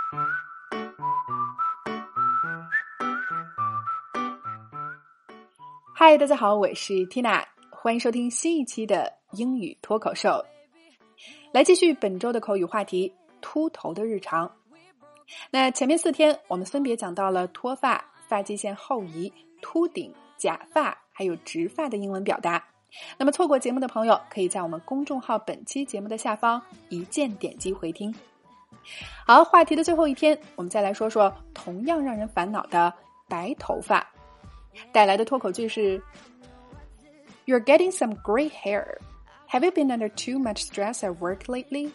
嗨，大家好，我是 Tina， 欢迎收听新一期的英语脱口秀。来继续本周的口语话题，秃头的日常。那前面4天我们分别讲到了脱发、发际线后移、秃顶、假发还有直发的英文表达。那么错过节目的朋友可以在我们公众号本期节目的下方一键点击回听。好，话题的最后一天，我们再来说说同样让人烦恼的白头发。带来的脱口句是 You're getting some gray hair. Have you been under too much stress at work lately?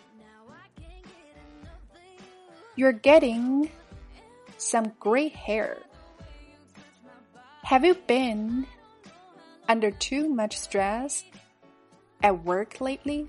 You're getting some gray hair. Have you been under too much stress at work lately?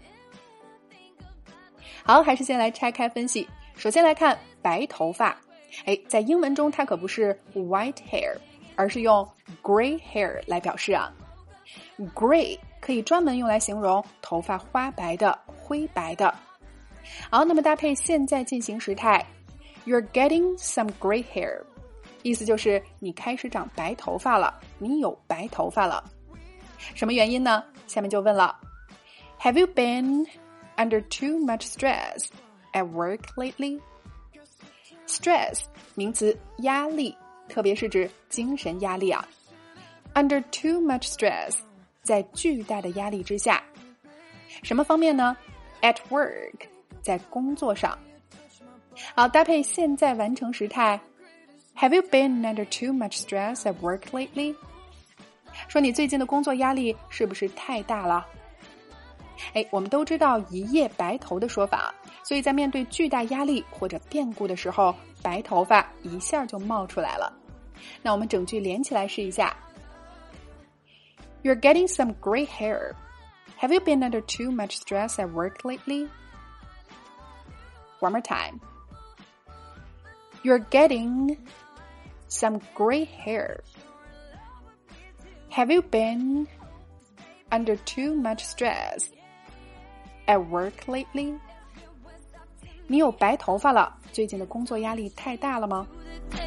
好，还是先来拆开分析。首先来看白头发。在英文中它可不是 white hair，而是用 gray hair 来表示啊。gray 可以专门用来形容头发花白的、灰白的。好，那么搭配现在进行时态 You're getting some gray hair， 意思就是你开始长白头发了，你有白头发了。什么原因呢？下面就问了 Have you been under too much stress at work lately? Stress 名词，压力，特别是指精神压力啊。Under too much stress， 在巨大的压力之下。什么方面呢？ At work， 在工作上。好，搭配现在完成时态 Have you been under too much stress at work lately？ 说你最近的工作压力是不是太大了？我们都知道一夜白头的说法，所以在面对巨大压力或者变故的时候，白头发一下就冒出来了。那我们整句连起来试一下。You're getting some gray hair. Have you been under too much stress at work lately? One more time. You're getting some gray hair. Have you been under too much stress at work lately? 你有白头发了，最近的工作压力太大了吗？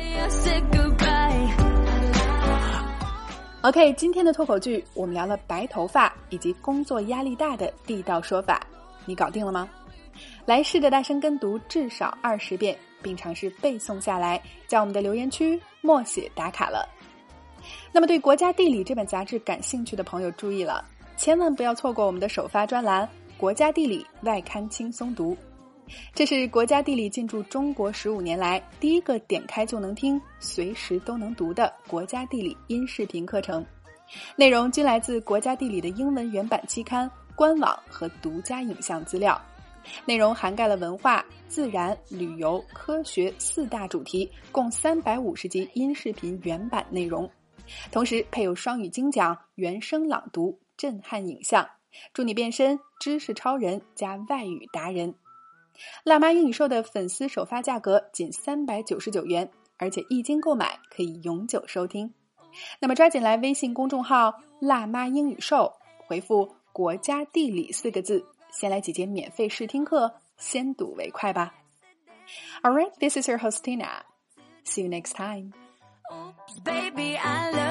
OK， 今天的脱口剧我们聊了白头发以及工作压力大的地道说法，你搞定了吗？来试着大声跟读至少20遍，并尝试背诵下来，在我们的留言区默写打卡了。那么对国家地理这本杂志感兴趣的朋友注意了，千万不要错过我们的首发专栏国家地理外刊轻松读。这是国家地理进驻中国15年来第一个点开就能听、随时都能读的国家地理音视频课程，内容均来自国家地理的英文原版期刊、官网和独家影像资料。内容涵盖了文化、自然、旅游、科学4大主题，共350集音视频原版内容，同时配有双语精讲、原声朗读、震撼影像，助你变身知识超人加外语达人。辣妈英语秀的粉丝首发价格仅399元，而且一经购买可以永久收听。那么抓紧来微信公众号辣妈英语秀，回复国家地理4个字，先来几节免费试听课，先睹为快吧。Alright, this is your host Tina. See you next time. Oops, baby, I love